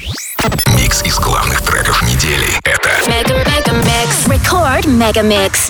Микс из главных треков недели. Это Megamix. Record Megamix.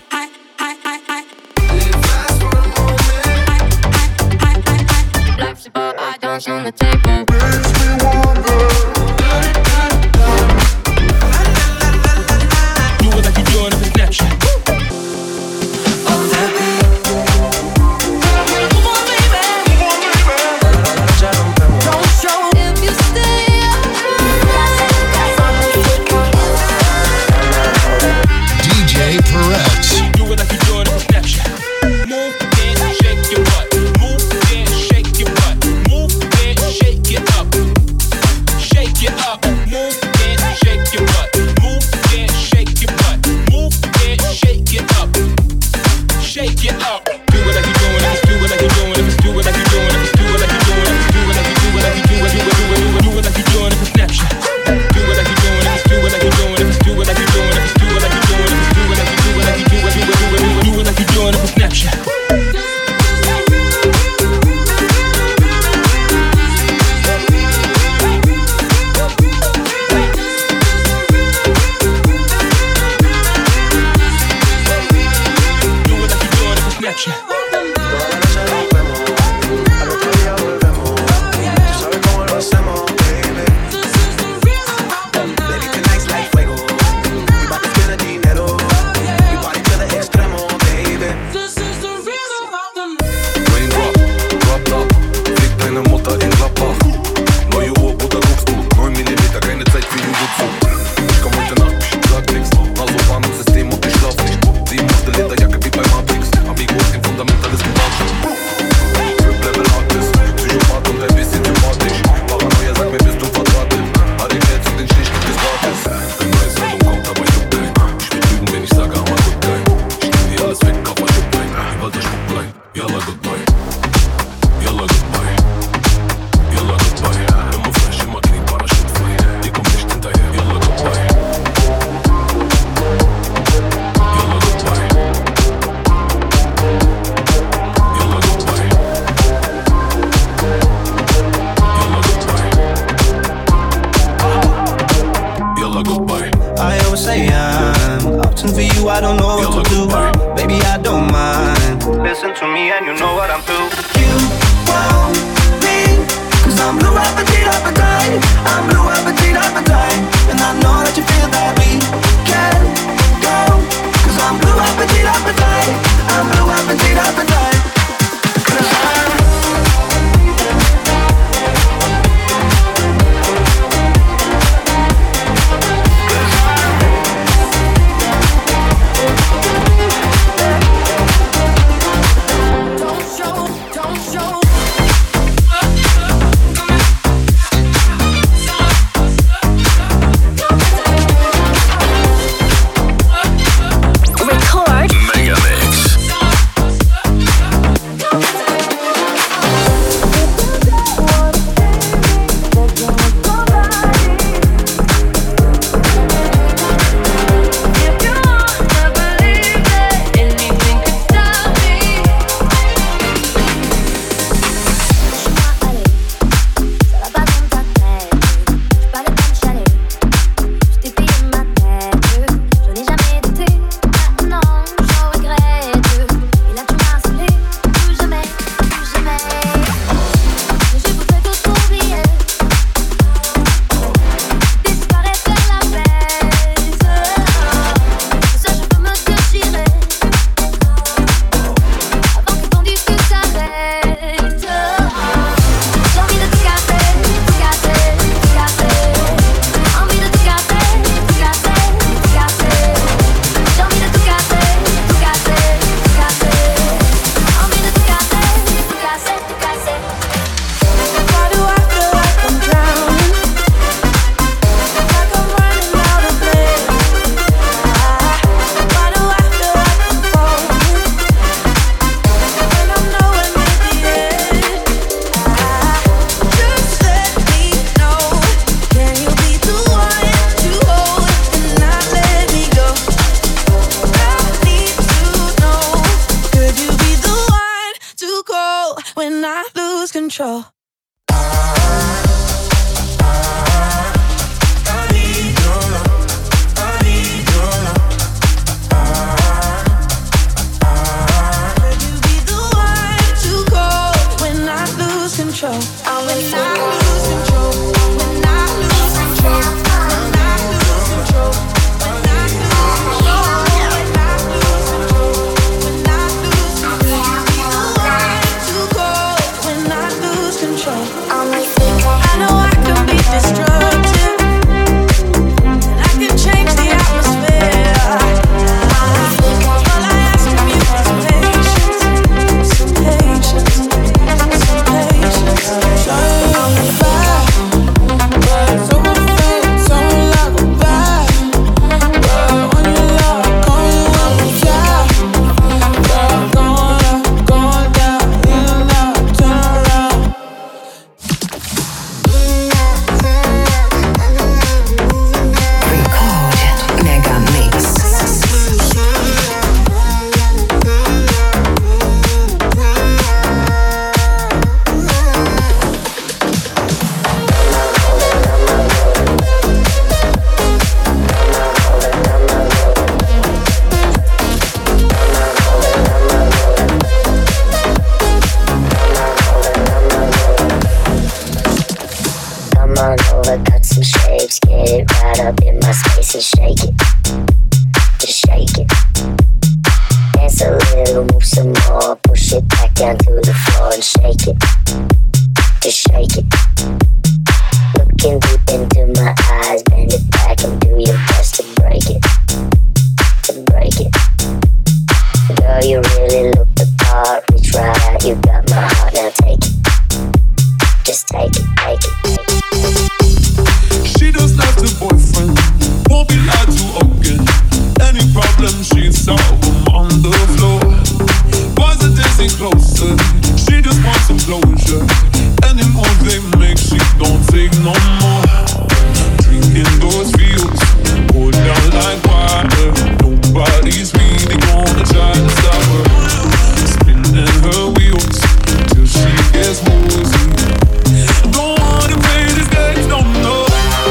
cut some shapes, get it right up in my space and shake it. Just shake it. Dance a little, move some more, push it back down to the floor and shake it. Just shake it. Looking deep into my eyes, bend it back and do your best to break it. To break it. Girl, you really look the part, reach right out, you got my heart, now take it. Just take it, take it, take it. She just left her boyfriend, won't be lied to again. Any problem, she solve them on the floor. Boys are dancing closer, she just wants some closure. Any move they make, she don't take no more. Drinking those fields, pour down like water. Nobody's really gonna try to stop her. Spinning her wheels till she gets woozy. Don't wanna play this game, no, no.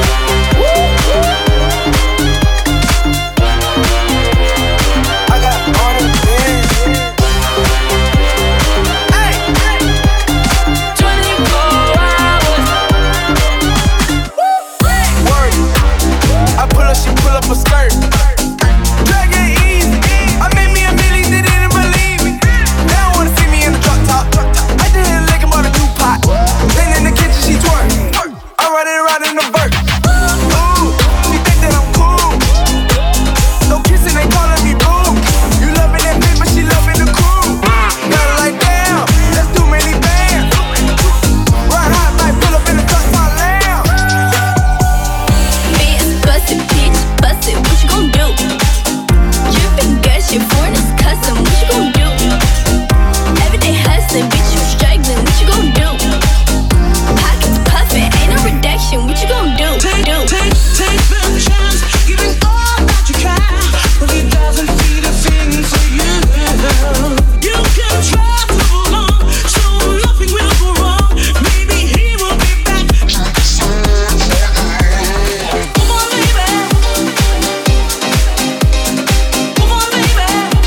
I got all the things. Hey, hey. 24 hours. Word. I pull up, she pull up a skirt. Drag it easy. I made me a million, they didn't believe me. They don't wanna see me in the drop top. I did it like I'm on a new pot. Then in the kitchen she twerk. I run it around in the vert. Ooh, she think that I'm cool. No kissing, they calling me boo. You loving that bitch, but she loving the crew. Got her like damn, that's too many bands. Ride hot like pull up in the truck, my lamb. Bitch, bust it, bitch, bust it, what you gon' do? Drippin' gas, your foreign is custom, what you gon' do? Everyday hustling, bitch, you struggling, what you gon' do? Pockets puffin', ain't no reduction, what you gon' do? Take the chance, give it all that you can, but it doesn't feel a thing for you. You can try to hold on, so nothing will go wrong. Maybe he will be back. Come on, baby. Come on, baby.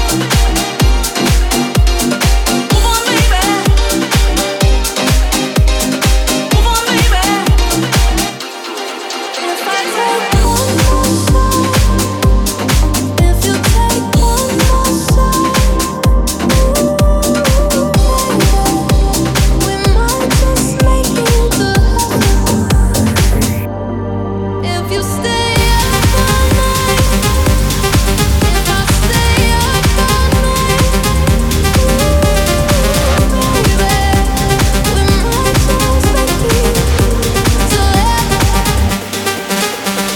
Come on, baby. Come on, baby. If I take one more side, if you take one more side, we might just make it good. If you stay up all night, if I stay up all night, baby, we might just make it good.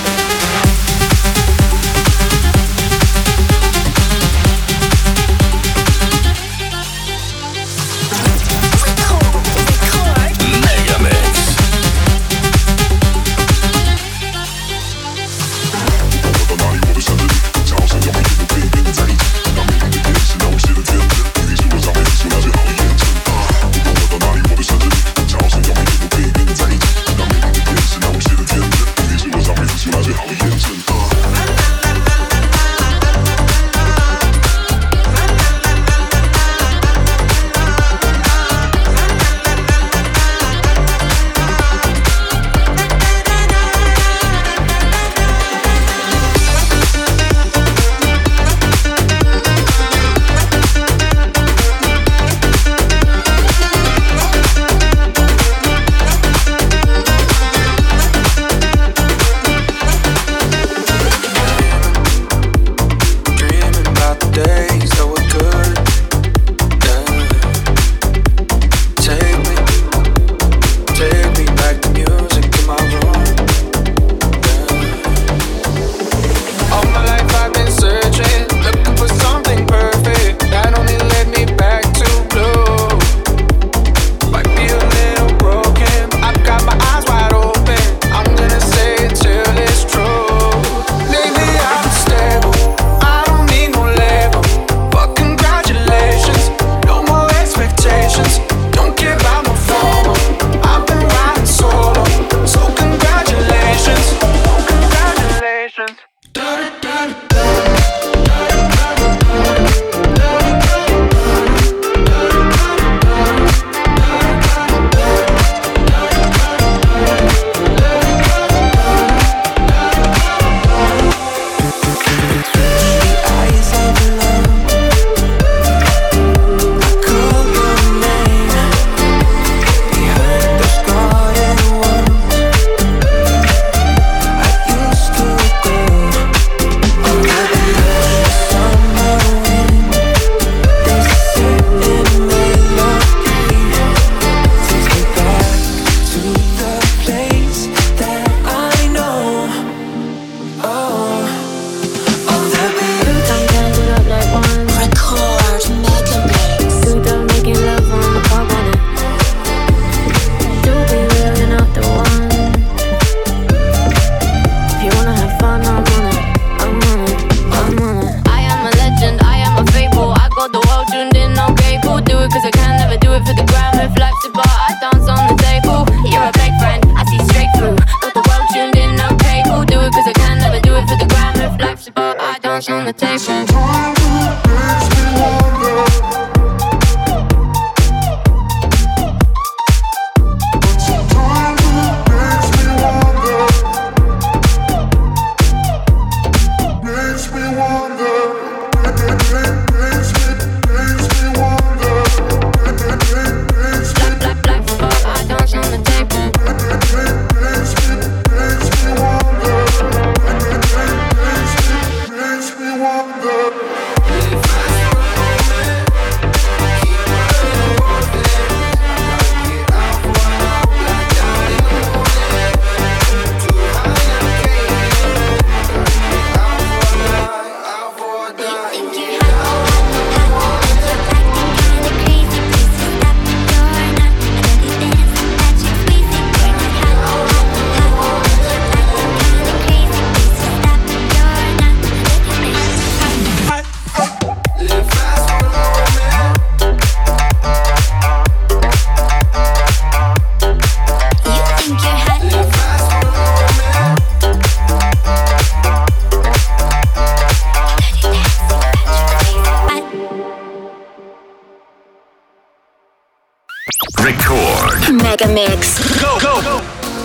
cards on the table. Record. Mega Mix. Go, go, go.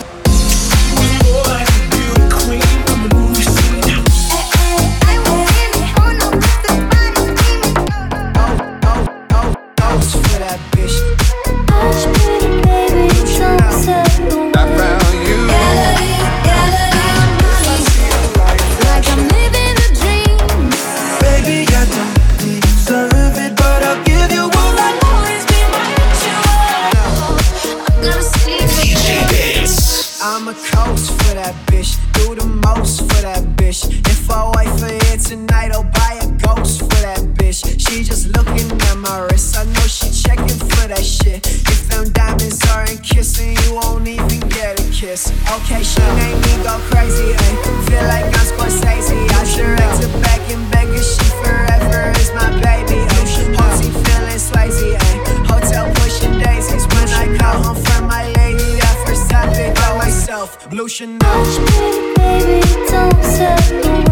I'm a coast for that bitch, do the most for that bitch. If I wait for it tonight, I'll buy a ghost for that bitch. She just looking at my wrist, I know she checking for that shit. If them diamonds aren't kissing, you won't even get a kiss. Okay, she made me go crazy, ayy. Feel like I'm Scorsese. I direct her back and back, cause she forever is my baby, ayy. Party feeling Swayze, ayy. Hotel pushing daisies. When I call home from my lady, that first topic by myself. Blue Chanel. Baby, don't settle.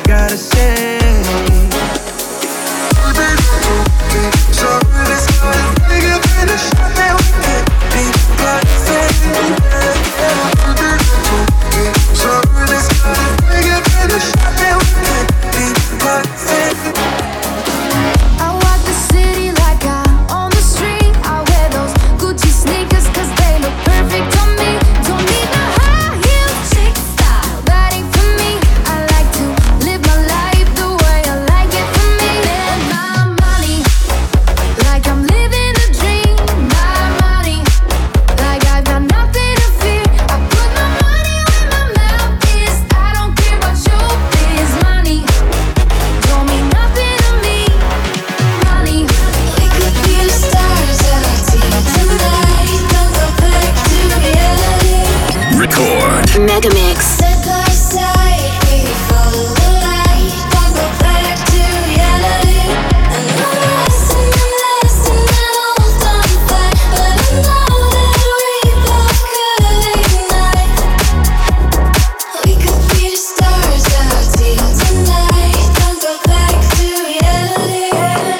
gotta say. So this gonna take a finish. Now we can be perfect. So this gonna take a finish. Now we can be perfect. I walk the city like I'm on the street. I wear those Gucci sneakers 'cause they look perfect on me. Don't need no high heel chic style, that ain't for me. I like to live my life the way I like it for me. Spend my money like I'm living a dream. My money like I've got nothing to fear. I put my money where my mouth is. I don't care about your biz. Money don't mean nothing to me. Money. We could be the stars of our team tonight. Don't go back to reality. Record. Megamix. Step aside, we follow the light. Don't go back to reality. I know the lesson that hold on fire, but I know that we both could ignite. We could be the stars of our team tonight. Don't go back to reality.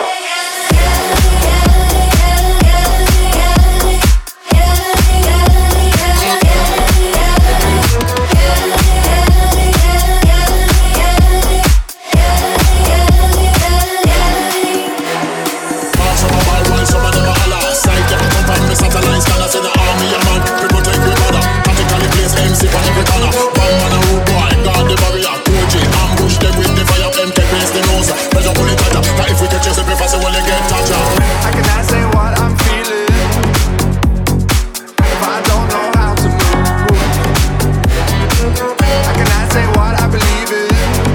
I cannot say what I'm feeling if I don't know how to move. I cannot say what I believe in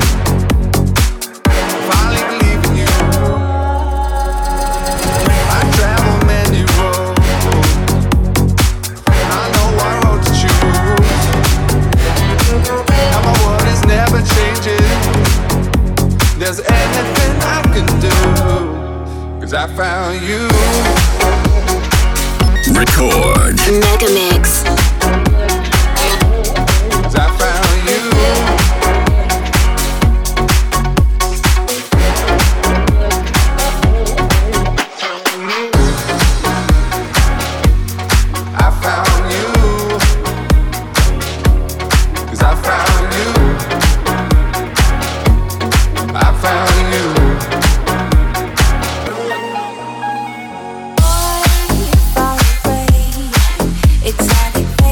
if I only believe in you. I travel many roads, I know what road to choose. Now my world is never changing. There's anything I can do, 'cause I found you. Record. Megamix. 'Cause I found you. I found you. 'Cause I found you. I found you. Exotic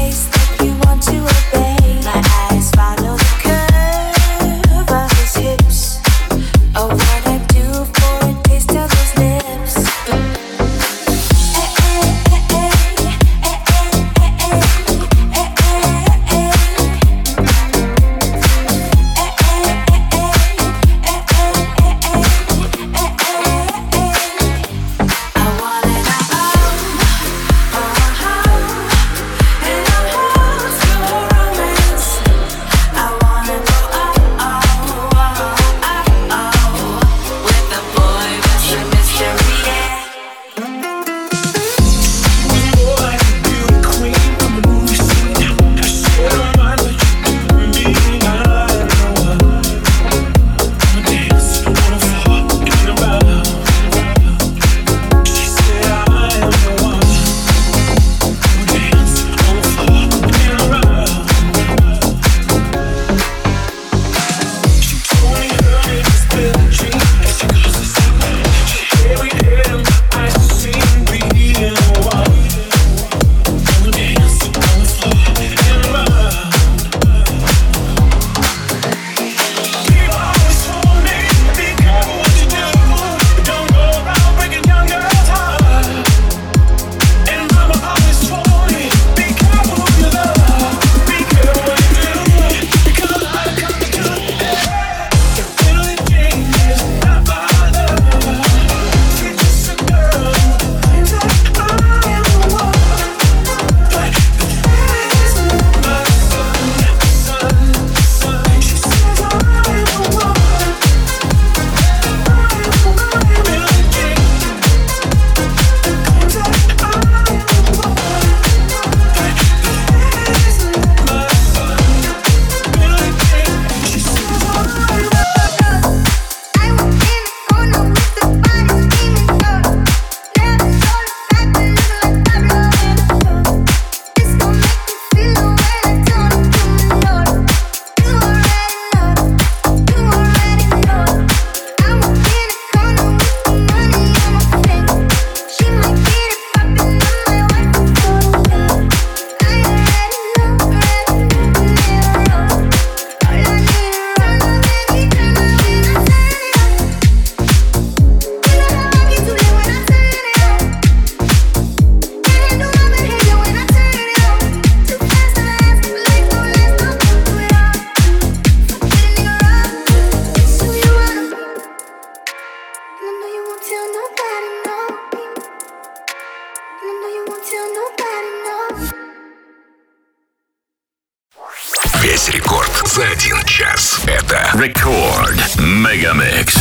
Megamix.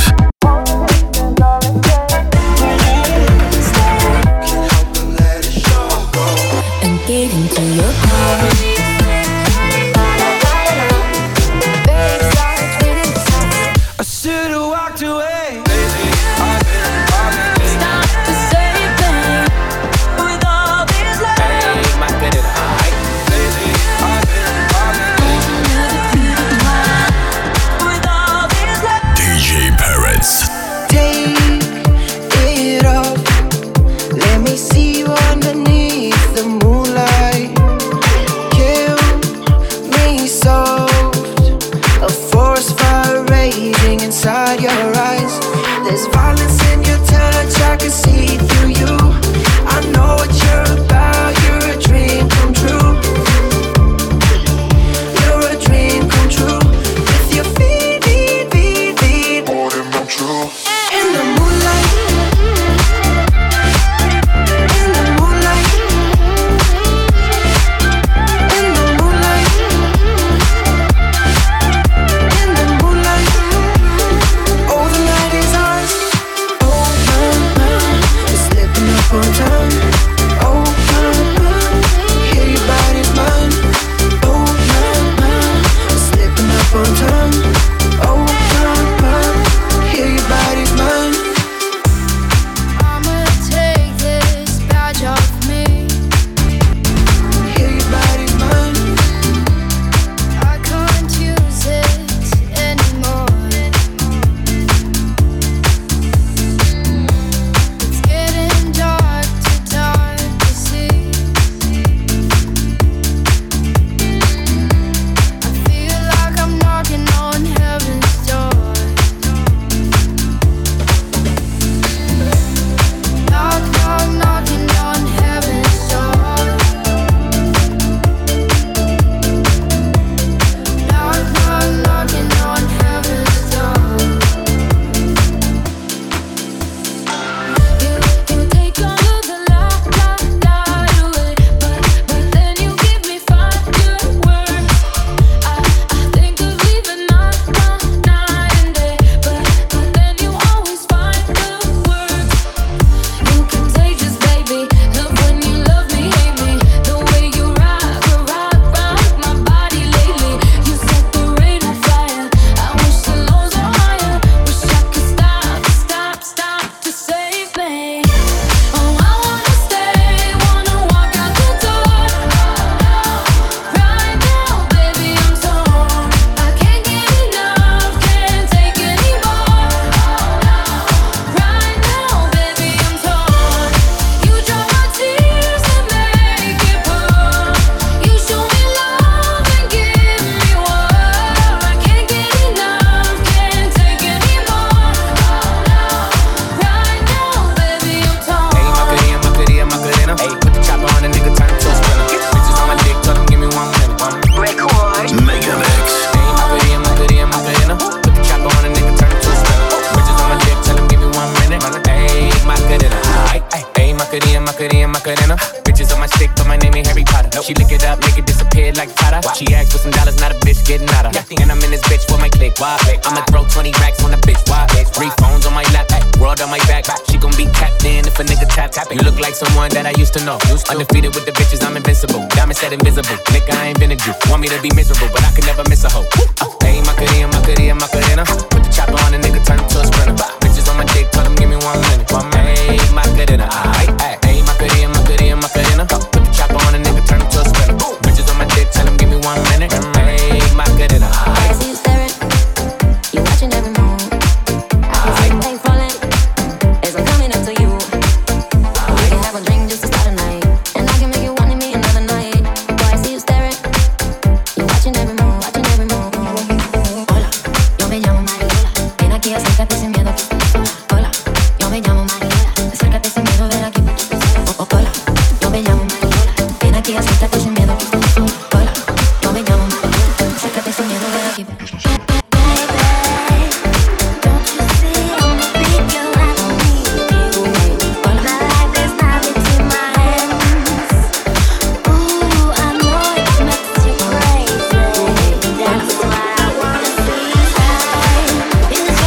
And get into your car. I should've walked away. Stop to save me with all these lies. My good With all these lies. DJ Parrots. Take it off. Let me see you underneath the moonlight. Kill me soft. A forest fire raging inside your eyes. There's violence in your touch, I can see through you. I know what you're about, you're a dream come true. You're a dream come true. With your feet in the moonlight. In the moonlight. In the moonlight. In the moonlight. Oh, the night is ours. Oh, we're slipping up on time. Oh, yeah, your body's mine. Oh, we're slipping up on time. Oh, yeah, your body's mine. I'ma take this badge off me. Yeah, your body's mine. I can't use it anymore. It's getting dark to see. I feel like I'm knocking on heaven's door. Knock, knock, knocking on heaven's door. Knock, knock, knocking on heaven's door. You take all of the light away, but then you give me fireworks. I think of leaving night and day, but then you always find the words. You contagious, baby. Love when you love me, hate me. The way you rock round my body lately. You set the rain on fire. I wish the lows were higher. Wish I could stop to save me. Oh, I wanna stay, wanna walk out the door. Right now, baby, I'm torn. I can't get enough, can't take anymore. Right now, baby, I'm torn. You dry my tears and make it pour. You show me love and give me war. I can't get enough, can't take anymore. Right now, baby, I'm torn. Hey, my goodie, Hey, put the chopper on a nigga, turn to a sprinter. Bitches on my dick, tell them give me 1 minute. Megamix. Hey, my goodie, Put the chopper on a nigga, turn to a sprinter. Bitches on my dick, tell them give me 1 minute. Hey, my goodie, Hey, my goodie, Bitches on my stick, but my name ain't Harry Potter. She lick it up, make it disappear like Prada. She asked for some dollars, not a bitch getting out of. And I'm in this bitch for my click. Why? I'ma throw 20 racks on a bitch. Why? 3 phones on my lap, world on my back. She gon' be tapped in if a nigga tap. You look like someone that I used to know. Undefeated with the bitches, I'm invincible. Diamond said invisible. Nigga, I ain't been a Jew. Want me to be miserable, but I can never miss a hoe. Hey, my goodie, Put the chopper on a nigga, turn to a sprinter. Bitches on my dick, tell them give me 1 minute. Hey, my goodie, Hey, my goodie, Put the chopper on a nigga, turn to a sprinter. Bitches on my dick, tell them give me 1 minute. Hey, my goodie, I see you staring, you watching every move. I can see the pain falling as I'm coming up to you. We can have a drink just to start the night, and I can make you want me another night. Boy, I see you staring, you watching every move. Hola, yo me llamo Mariola, ven aquí, acércate sin miedo. Hola, yo me llamo Mariola, acércate sin miedo, ven aquí. Hola, yo me llamo Mariola, ven aquí, acércate sin miedo. Hola, yo me llamo Mariola, acércate sin miedo, ven aquí. Crazy. That's what I wanna see.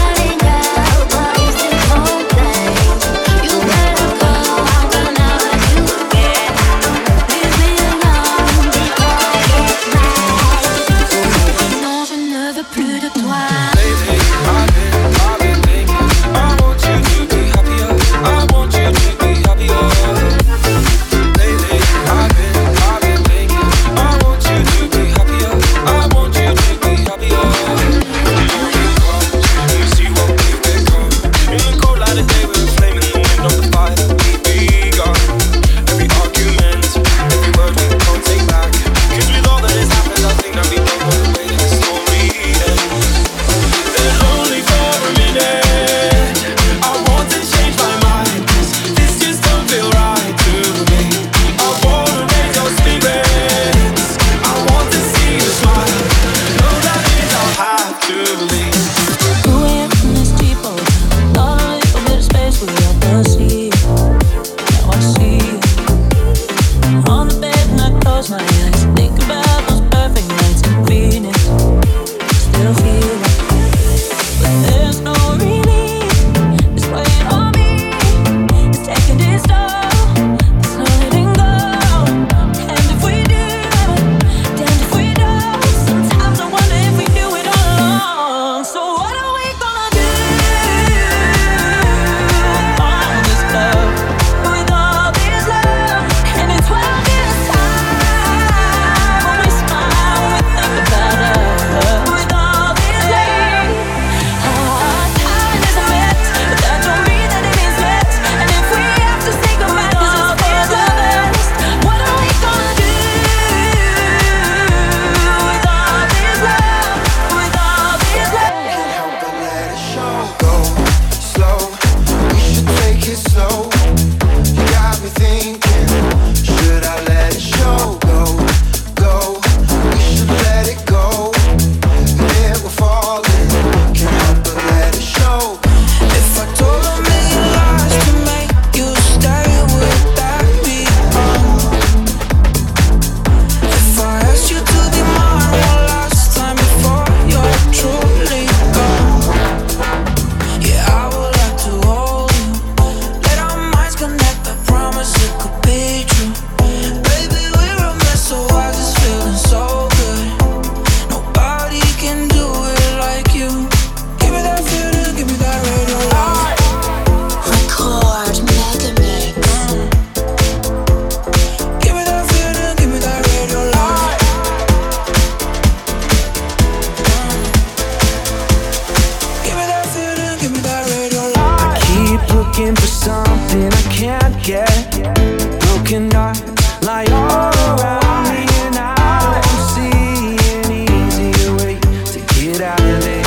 looking for something I can't get. Broken hearts lie all around me, and I don't see an easier way to get out of it.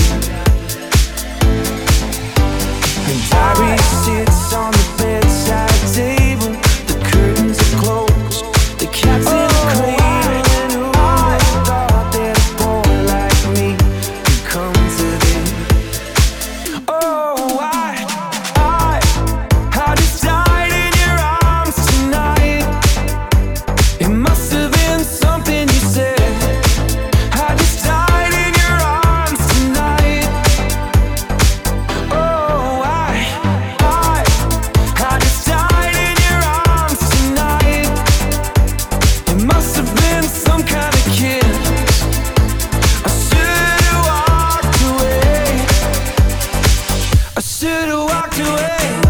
And diary sits on the bedside table. The curtains are closed, the cat's in a cradle. And who I thought that a boy like me could come to this. Oh, I just died in your arms tonight. It must have been something you said. I just died in your arms tonight. Oh, I just died in your arms tonight. It must have been some kind of kiss. I should have walked away. I should have walked away.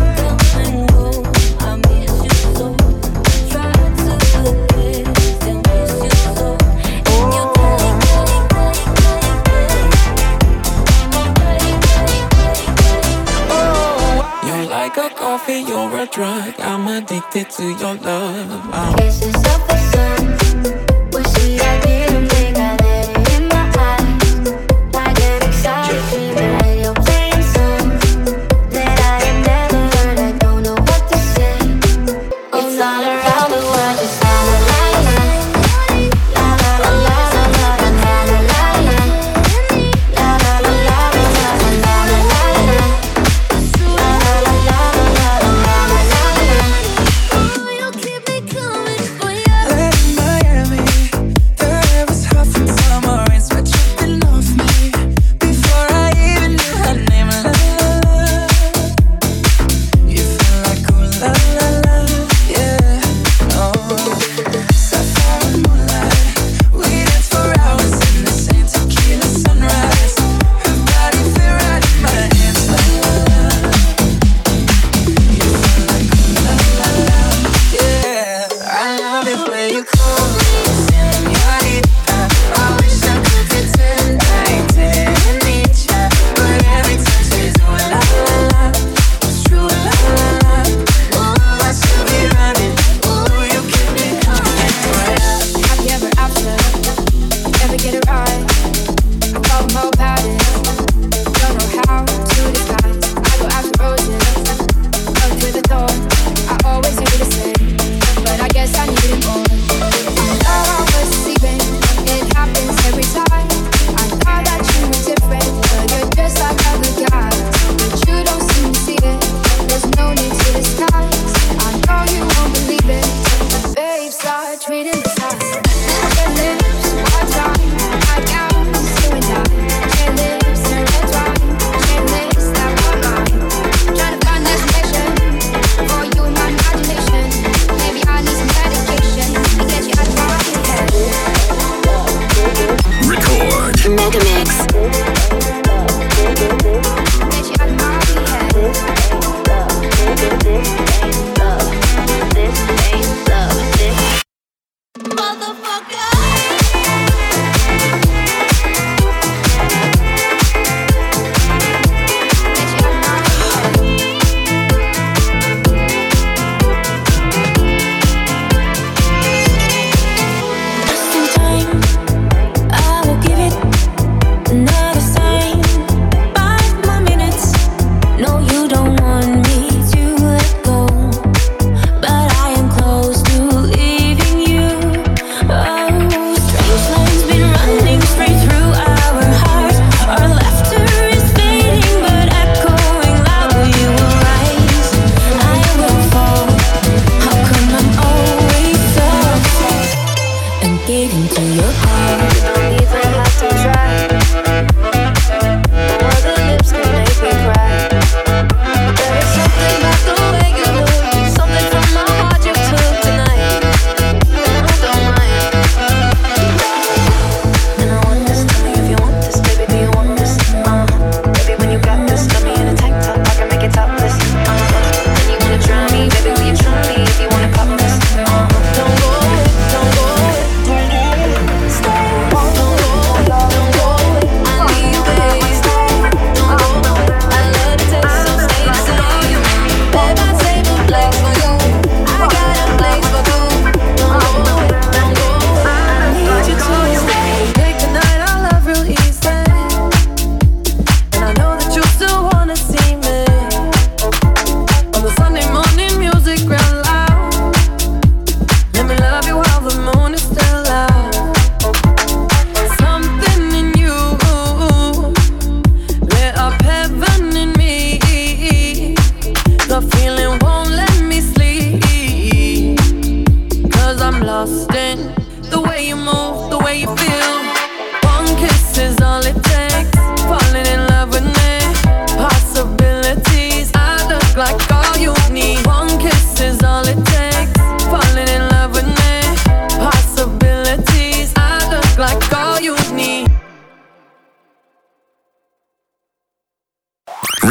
You're like a coffee, you're a drug. I'm addicted to your love. Kisses of the sun were sweet. I didn't think I let it in my eyes. Like an exotic dream, and you're playing songs that I have never heard. I don't know what to say. It's all around the world, just la la la la, la la la la la la la la la, la la la la la la la la la. Oh, you keep me coming for you. Miami.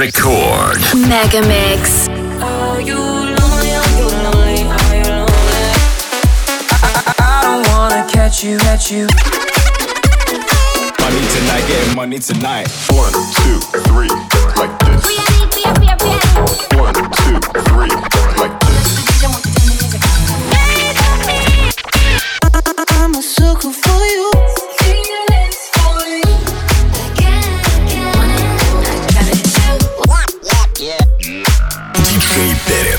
Record. Megamix. Are you lonely? Are you lonely? Are you lonely? I don't wanna catch you. Money tonight, getting money tonight. 1, 2, 3, like this. 1, 2, 3, like this. I'm a sucker for you. DJ Перец.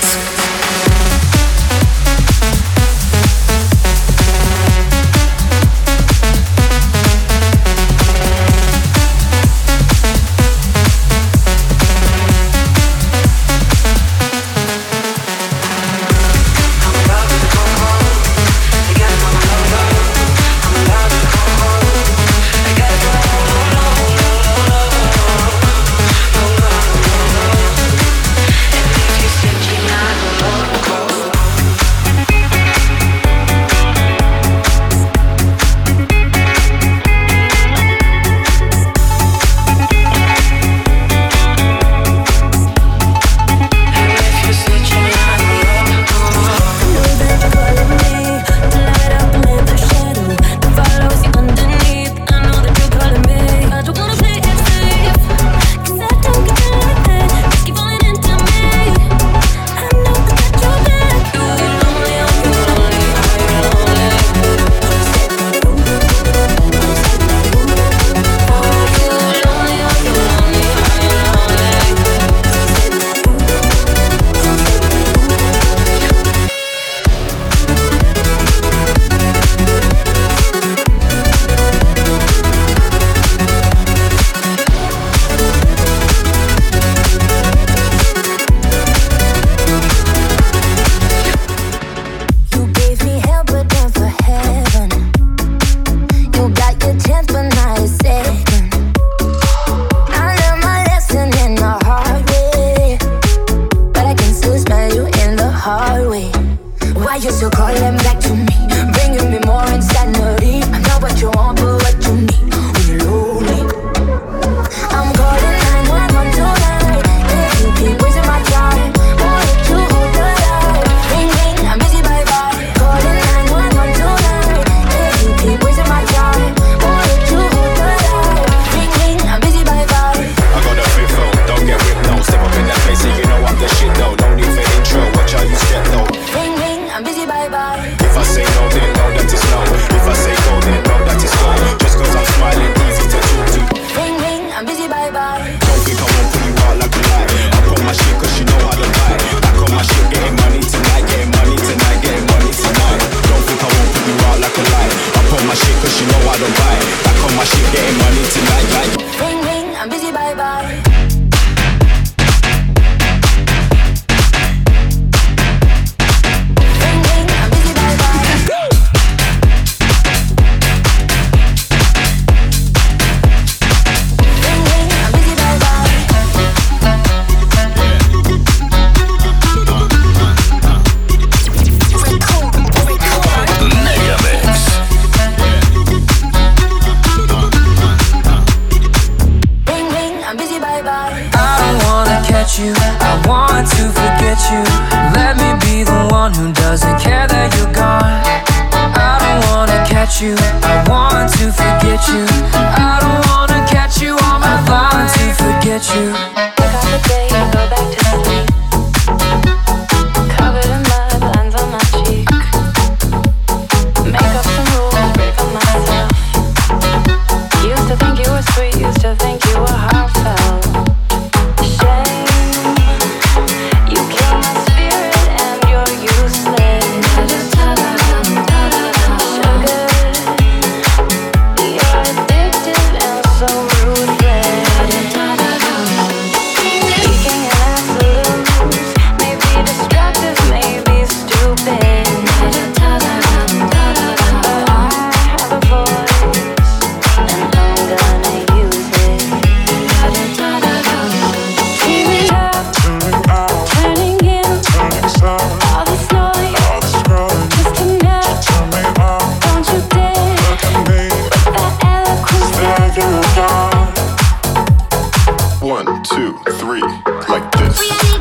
like this.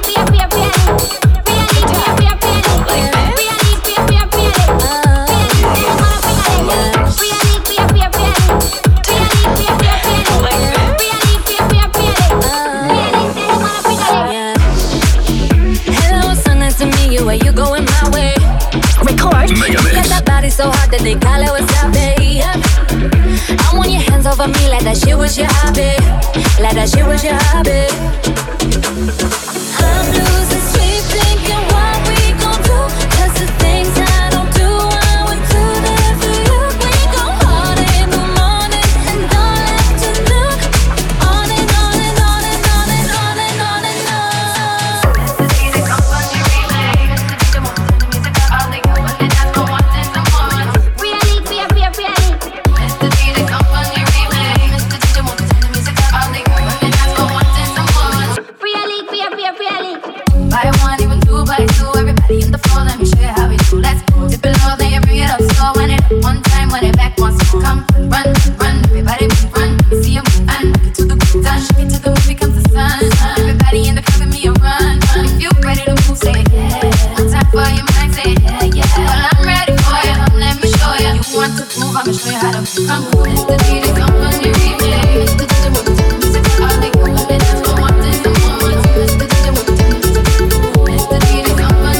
Where you going my way? Record. Got that body so hot that they call it wasabi. I want your hands over me like that shit was your hobby. Like that shit was your hobby. I'm losing sleep thinking what we gon' do. 'Cause the things I don't do, I would do that for you. We go hard in the morning and all afternoon. On and on and on and on and on and on and on. Buy one, even two, buy two. Everybody in the floor, let me show you how we do. Let's go. Dip it low, then you bring it up slow. When it up one time, when it back once more. Come, run, run, everybody run. Let me see you move and rock it to the groove. Done, shake it to the movie comes the sun. Everybody in the club, give me a run. If you ready to move, say it, yeah. One time for your mind, say it, yeah, yeah. Well, I'm ready for you, let me show you. You want to move, I'ma show you how to move. Come on, it's the DJ, come on, you remix. It's the DJ, move to the music, all they go. And that's what one thing, come on. It's the DJ, move to the music. It's the DJ, come on.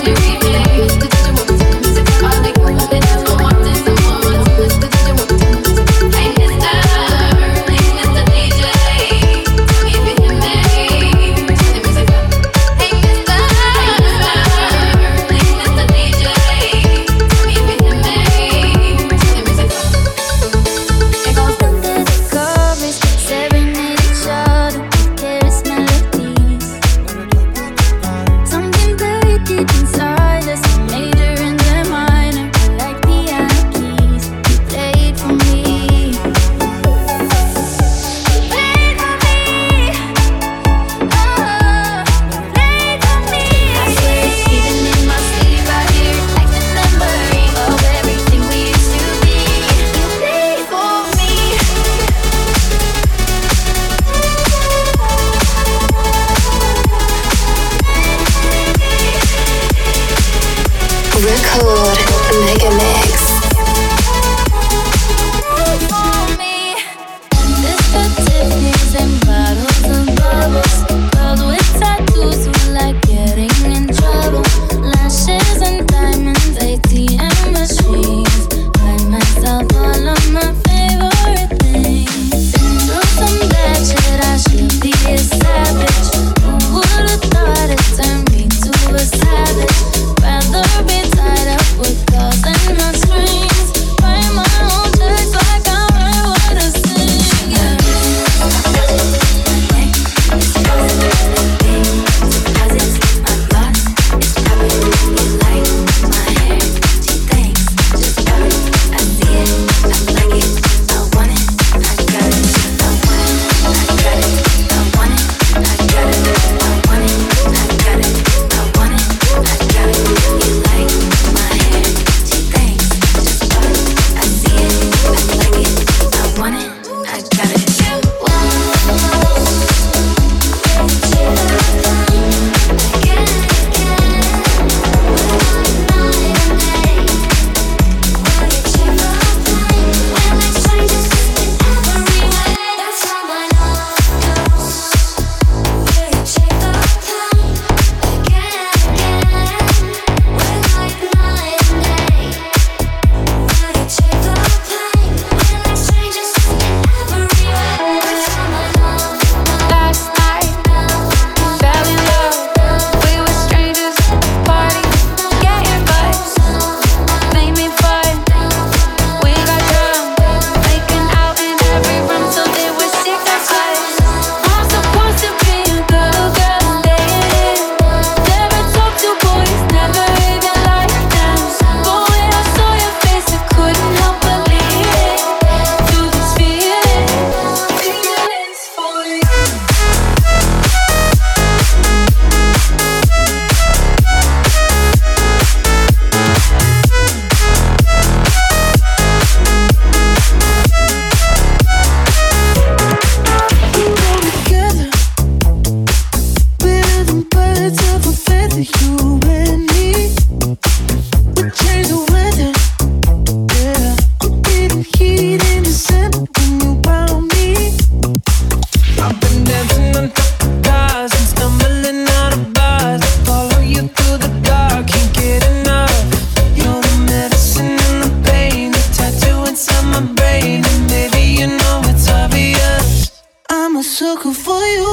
sucker for you.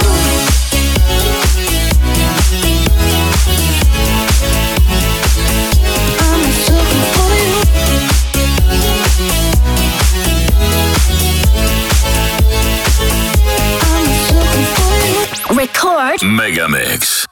I'm a sucker for you. I'm a sucker for you. Record Megamix.